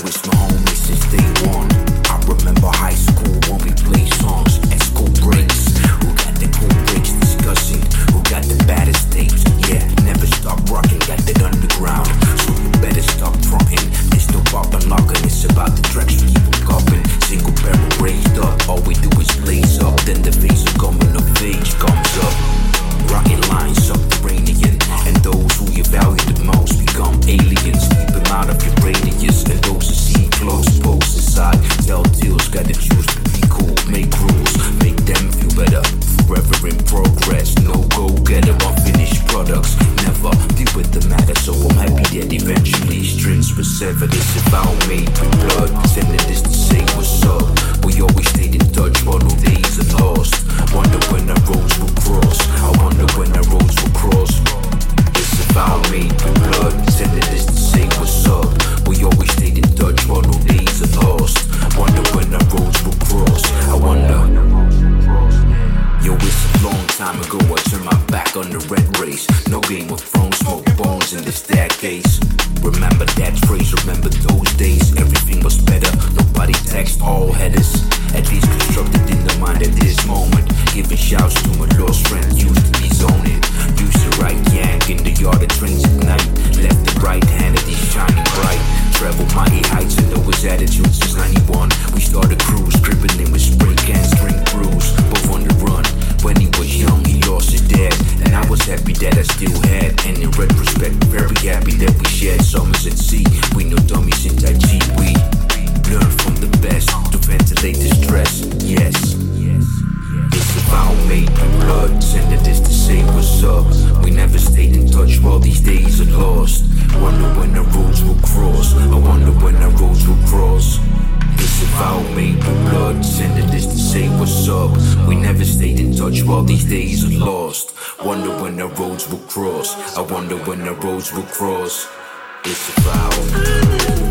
it's my homie since day one. I remember high school when we played songs at school breaks. Who got the cool breaks discussing? Who got the baddest tapes? Yeah, never stop rocking, got that underground. So you better stop fronting. It's no pop and locking, it's about the tracks we keep on copping. Single barrel raised up, all we do is blaze up. Then the face of coming of age comes up. Rocket lines subterranean, and those who you value the most become aliens. Keep them out of your radius, and those who see close pose inside. Tell tales, gotta choose to be cool, make rules, make them feel better. Forever in progress, no go-getter, unfinished products. Never deal with the matter, so I'm happy that eventually strings were severed. It's a vow made with blood, sending this to say what's up. We always stayed in touch while no days are lost. Wonder when our roads will cross. I wonder when our roads will cross. It's a vow made with blood, sending this to say what's up. We always stayed in touch while no days are lost. Wonder when our roads will cross. I wonder. Yo, it's a long time ago, I turned my back on the red race. No Game of Thrones, smoke bones in the staircase. Remember that phrase, remember those days. Everything was better, nobody text all headers. At least constructed in the mind at this moment. Giving shouts to my lost friend, used to be zoning. Used to write yank in the yard of trains at night. Left the right hand of these shining bright. Travel mighty heights and always attitude since 91. We started cruise, gripping in with spray cans, drink brews. Both on the run. When he was young, he lost his dad, and I was happy that I still had. And in retrospect, very happy that we shared summers at sea. We no dummies in Tai Chi. We learn from the best to ventilate the stress. Yes, it's a vow made with blood, sending this to say what's up. We never stayed in touch while these days are lost. Wonder when our roads will cross. I wonder when our roads will cross. It's a vow made with blood, sending this to say what's up. We never stayed in touch while these days are lost. Wonder when our roads will cross. I wonder when our roads will cross. It's a vow.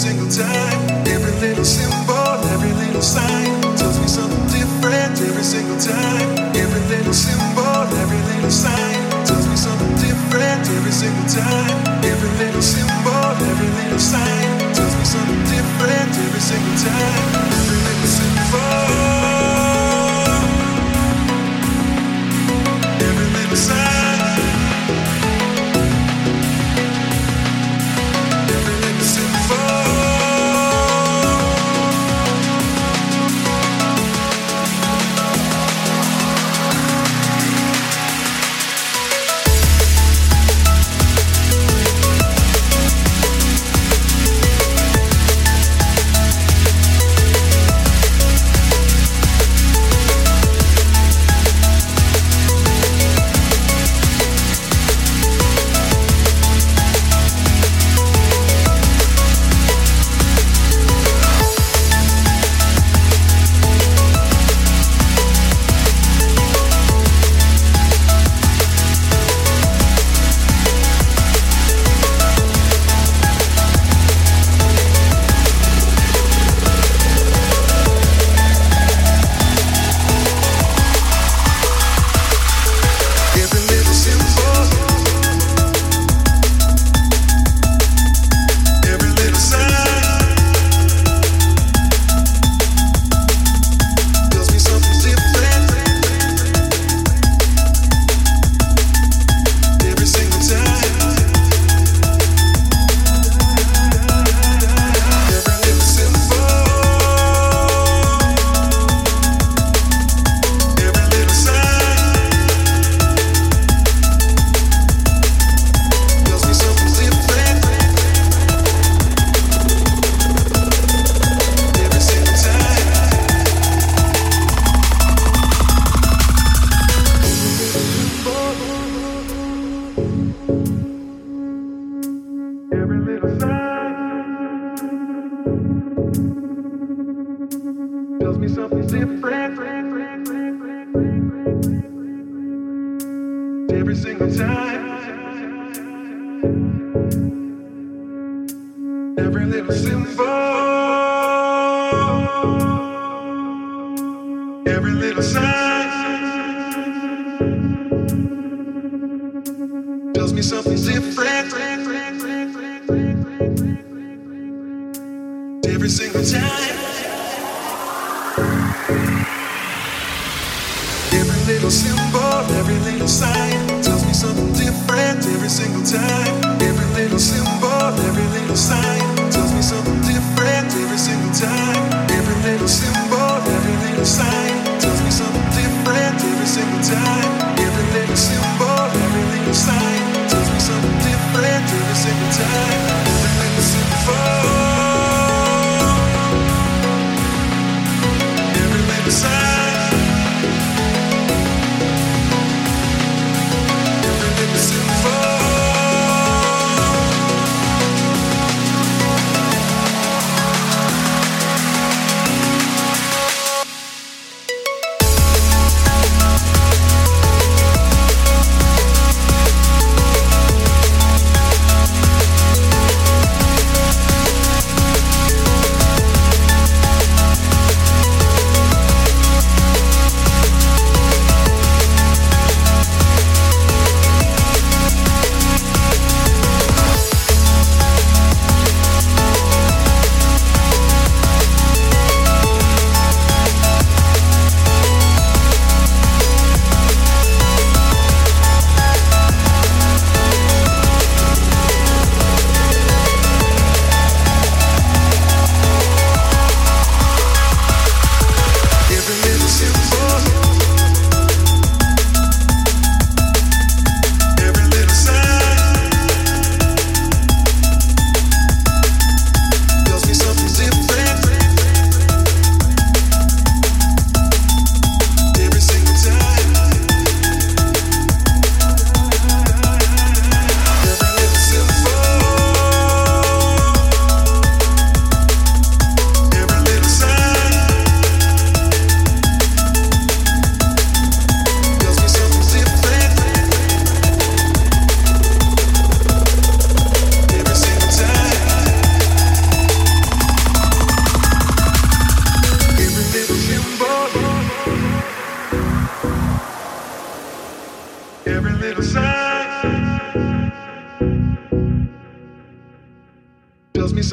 single time. Every little symbol, every little sign tells me something different every single time. Every little symbol, every little sign tells me something different every single time. Every little symbol, every little sign tells me something different every single time. Every little symbol, every little sign.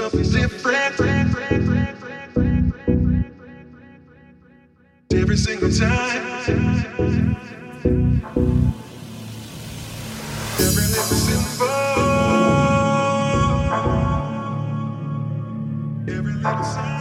something different every single time. Every little symbol, every little sign.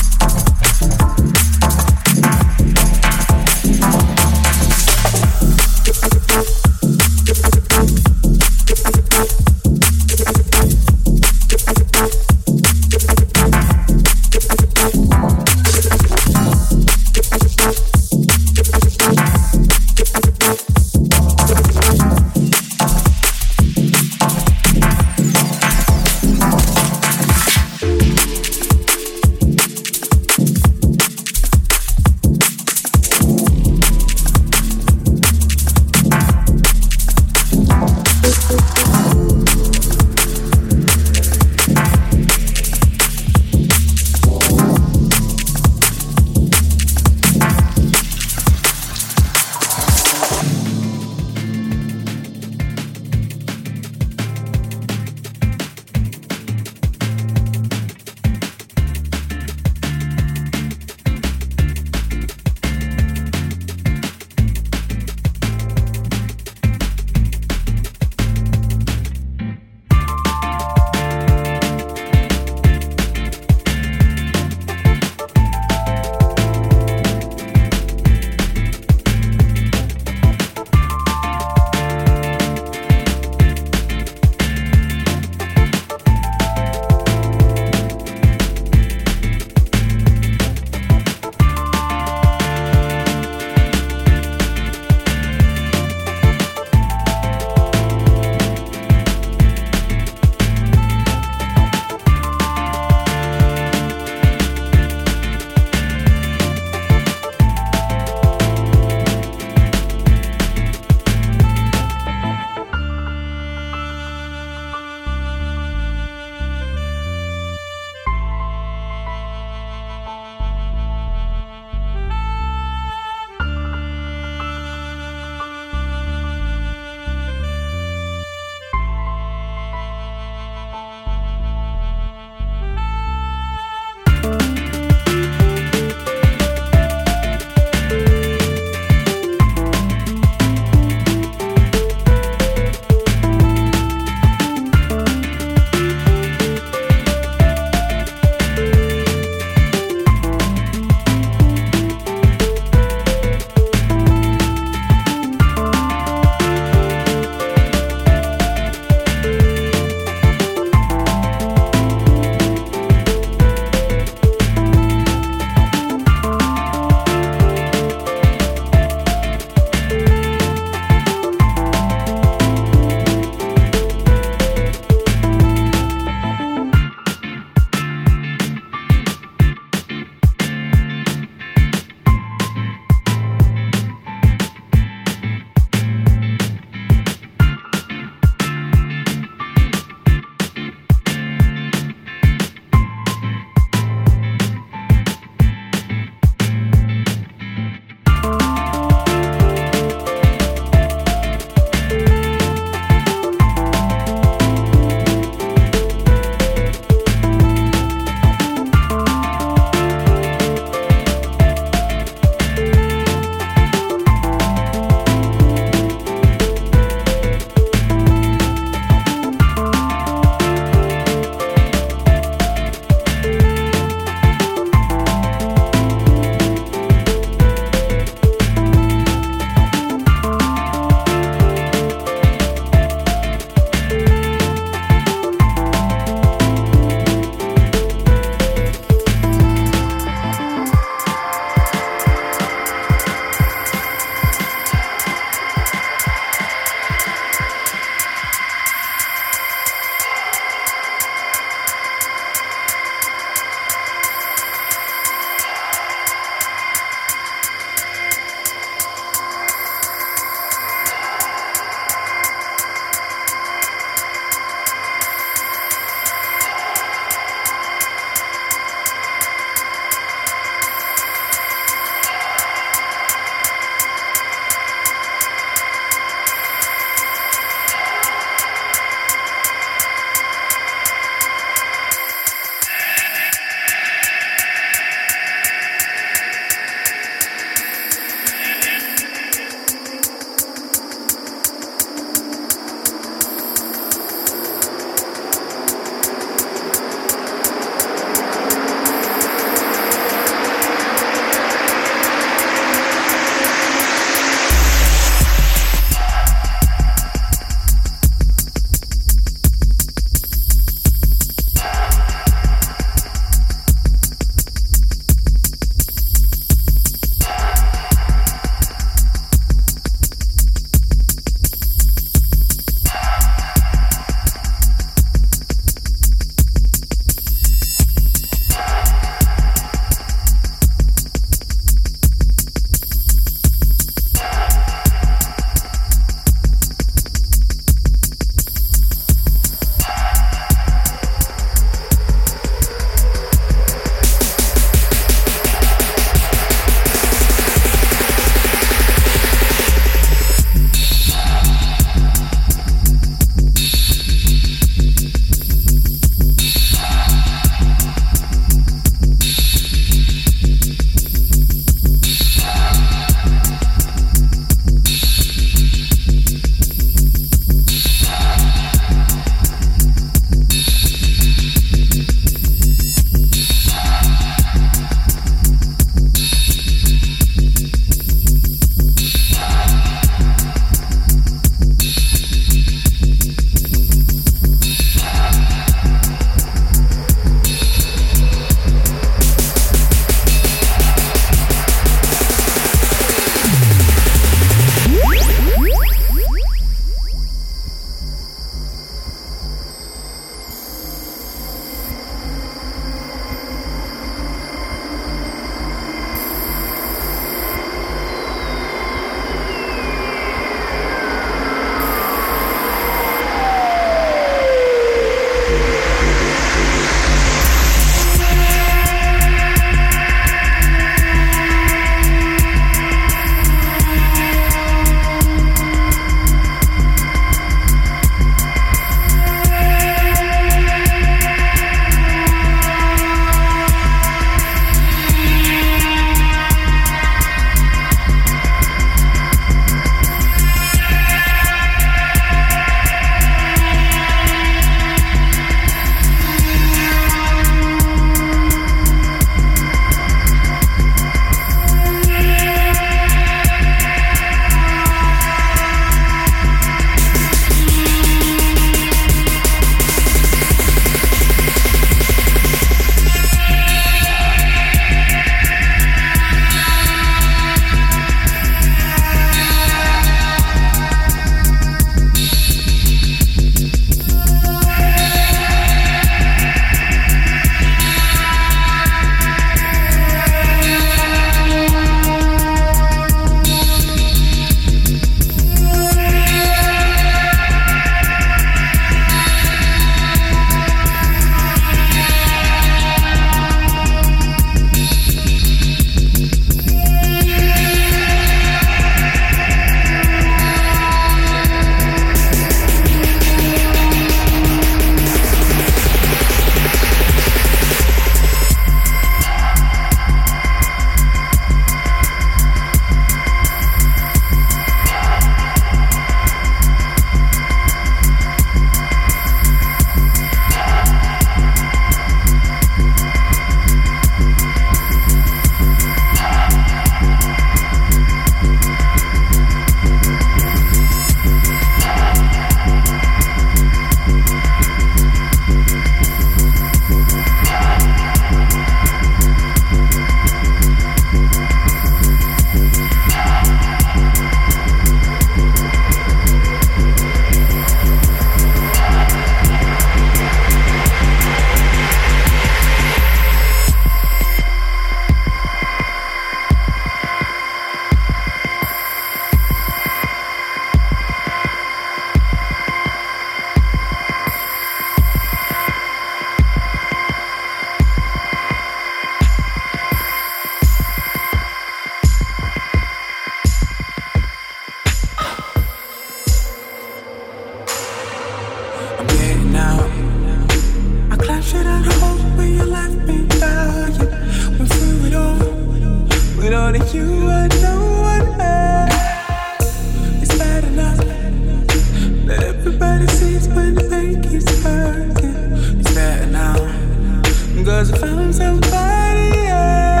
only you and no one else. It's bad enough that everybody sees when the pain keeps hurting. It's better now, 'cause I found somebody else.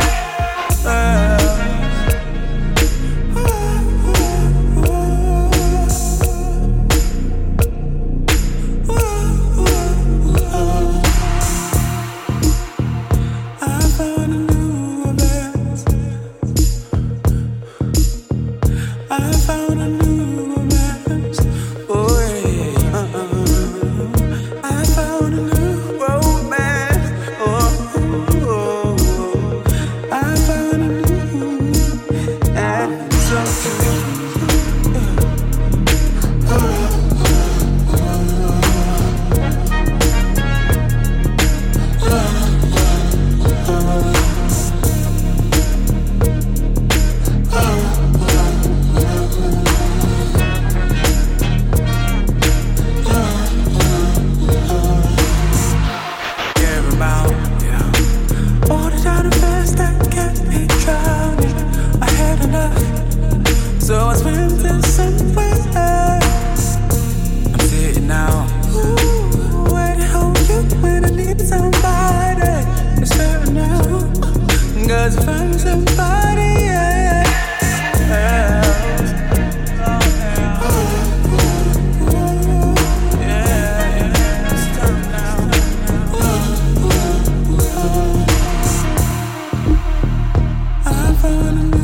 So I swim to somewhere else. I'm sitting now, waiting on you when I need somebody. It's fair now, 'cause I found somebody else. Yeah, stop now. I found a